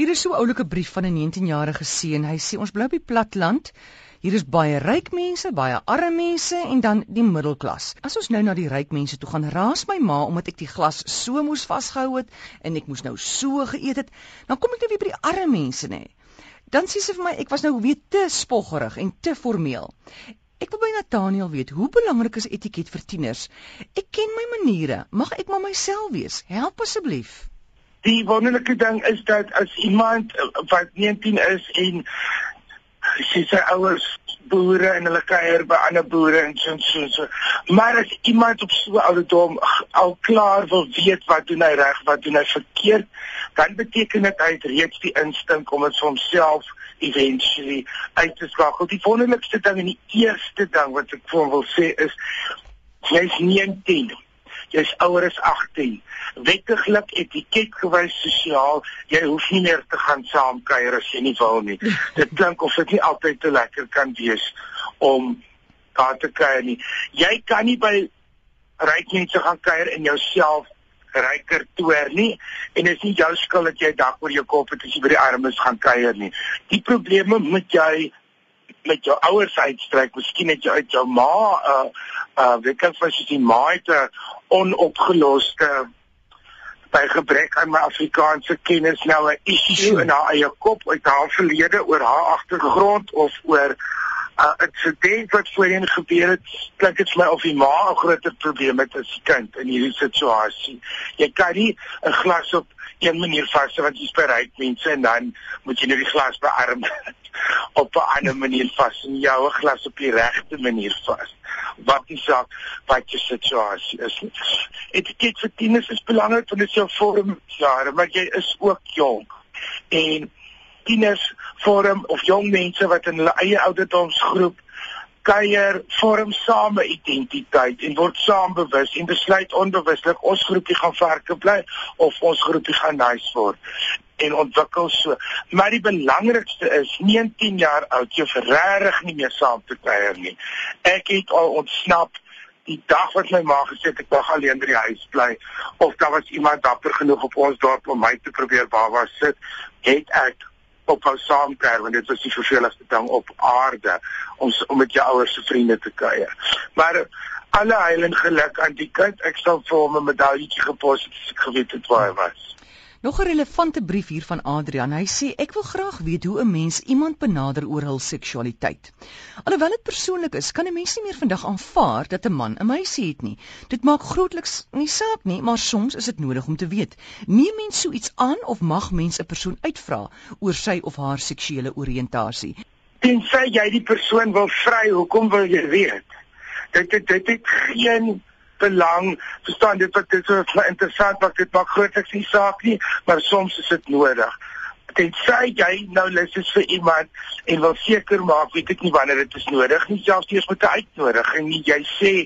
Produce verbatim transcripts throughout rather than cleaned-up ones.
Hier is so 'n oulike brief van 'n negentienjarige seun. Hy sê ons bly op die platland. Hier is baie ryk mense, baie arme mense en dan die middelklas. As ons nou na die ryk mense toe gaan, raas my ma omdat ek die glas so moes vasgehou het en ek moes nou so geëet het, dan kom ek nou weer by die arme mense nê. Dan sê sy vir my ek was nou weer te spoggerig en te formeel. Ek wil by Nathaniel weet, hoe belangrik is etiket vir tieners? Ek ken my maniere, mag ek maar myself wees? Help asseblief. Die wonderlike ding is dat as iemand wat negentien is en sy sy ouers boere en hulle kuier by ander boere en so en so, so. Maar as iemand op so ouderdom al klaar wil weet wat doen hy reg, wat doen hy verkeerd, dan beteken dit hy het reeds die instink om dit vir homself eventually uit te skakel. Die wonderlikste ding en die eerste ding wat ek vir hom wil sê is, jy is negentien. Jy is ouer as agttien. Wettiglik, etiketgewys sosiaal, jy hoef nie meer te gaan saamkuier as jy nie wil nie. Dit klink of dit nie altyd te lekker kan wees om daar te kuier nie. Jy kan nie by ryk mense gaan kuier en jouself ryker toer nie, en dit is nie jou skuld dat jy dak oor jou kop het as jy by die armes gaan kuier nie. Die probleme moet jy met jou ouers uitstryk, miskien het jy uit jou ma, uh, uh, weet ek wat jy ma het 'n onopgeloste, by gebrek aan my Afrikaanse kennis nou 'n issue in haar eie kop uit haar verlede oor haar agtergrond of oor 'n uh, insident wat voorheen gebeur het. Klink dit vir my of die ma 'n groter probleem het as die kind in hierdie situasie. Jy kan nie 'n glas op een manier vashou want jy's by ryk mense en dan moet jy nou die glas by arm op 'n ander manier vas en jou 'n glas op die regte manier vas. Wat die saak, wat jou situasie is. Etiket vir tieners is belangrik want dit is jou vormjare, maar jy is ook jong. En tieners vorm of jong mense wat in hulle eie ouderdomsgroep kuier, vorm same identiteit en word saam bewus en besluit onbewuslik ons groepie gaan verke bly of ons groepie gaan nice word en ontwikkel so. Maar die belangrikste is negentien jaar oud, jy hoef regtig nie meer saam te kuier nie. Ek het al ontsnap die dag wat my ma gesê het ek mag alleen by die huis bly, of daar was iemand dapper genoeg op ons dorp om my te probeer baba sit, het ek ophou saamkuier, want dit was die verveligste ding op aarde, om, om met jou ouers se vriende te kuier. Maar alle heil en geluk aan die kind, ek sal vir hom 'n medailletjie gepos het as ek geweet het waar hy was. Nog 'n relevante brief hier van Adrian. Hy sê ek wil graag weet hoe 'n mens iemand benader oor hul seksualiteit. Alhoewel dit persoonlik is, kan 'n mens nie meer vandag aanvaar dat 'n man 'n meisie het nie. Dit maak grootliks nie saak nie, maar soms is dit nodig om te weet. Neem mens so iets aan of mag mens 'n persoon uitvra oor sy of haar seksuele oriëntasie? Tensy jy die persoon wil vry, hoekom wil jy weet? Dit dit dit het geen belang, verstaan dit wat dit so interessant wat dit maak grootliks nie saak nie, maar soms is dit nodig. Tensy jy nou lus is vir iemand en wil seker maak, weet ek nie wanneer dit is nodig nie, selfs eers met 'n uitnodiging nie, jy sê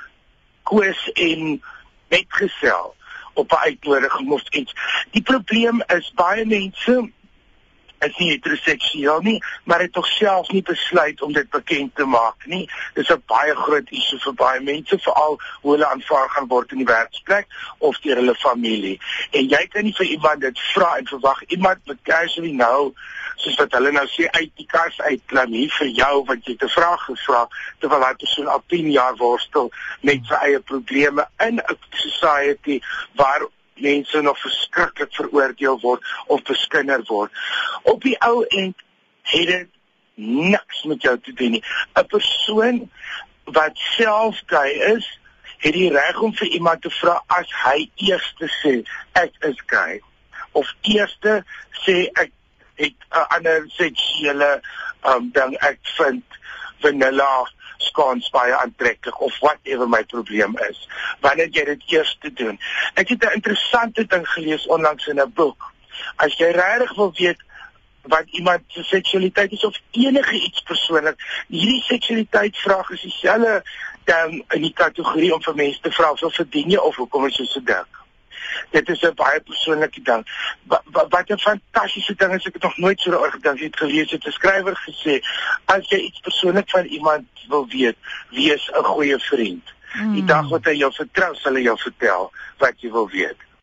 koos en metgesel op 'n uitnodiging of iets. Die probleem is baie mense is nie heteroseksueel nie, maar het tog self nie besluit om dit bekend te maak nie. Dis 'n baie groot issue vir baie mense, veral hoe hulle aanvaar gaan word in die werksplek of deur hulle familie. En jy kan nie vir iemand dit vra en verwag iemand met casually nou, soos wat hulle nou sê, uit die kas uitklim hier vir jou wat jy te vraag gevra, terwyl hy persoon al tien jaar worstel met sy eie probleme in 'n society waar mense nog verskriklik veroordeel word of beskinder word. Op die ou end het dit niks met jou te doen nie. 'n Persoon wat self gay is, het die reg om vir iemand te vra as hy eerste sê ek is gay, of eerste sê ek het 'n ander seksuele um, ding, ek vind vanilla skans baie aantreklik of whatever my probleem is. Wanneer jy dit eers te doen. Ek het 'n interessante ding gelees onlangs in 'n boek. As jy regtig wil weet wat iemand se seksualiteit is of enige iets persoonlik, hierdie seksualiteitsvraag is dieselfde dan in die kategorie om vir mense te vra of verdien jy of hoekom is jy so dik. Dit is 'n baie persoonlike ding. Wat, wat 'n fantastiese ding is, ek het nog nooit so daaroor gedink, ek het gelees, het 'n skrywer gesê, as jy iets persoonlik van iemand wil weet, wees 'n goeie vriend. Die dag wat hy jou vertrou, sal hy jou vertel wat jy wil weet.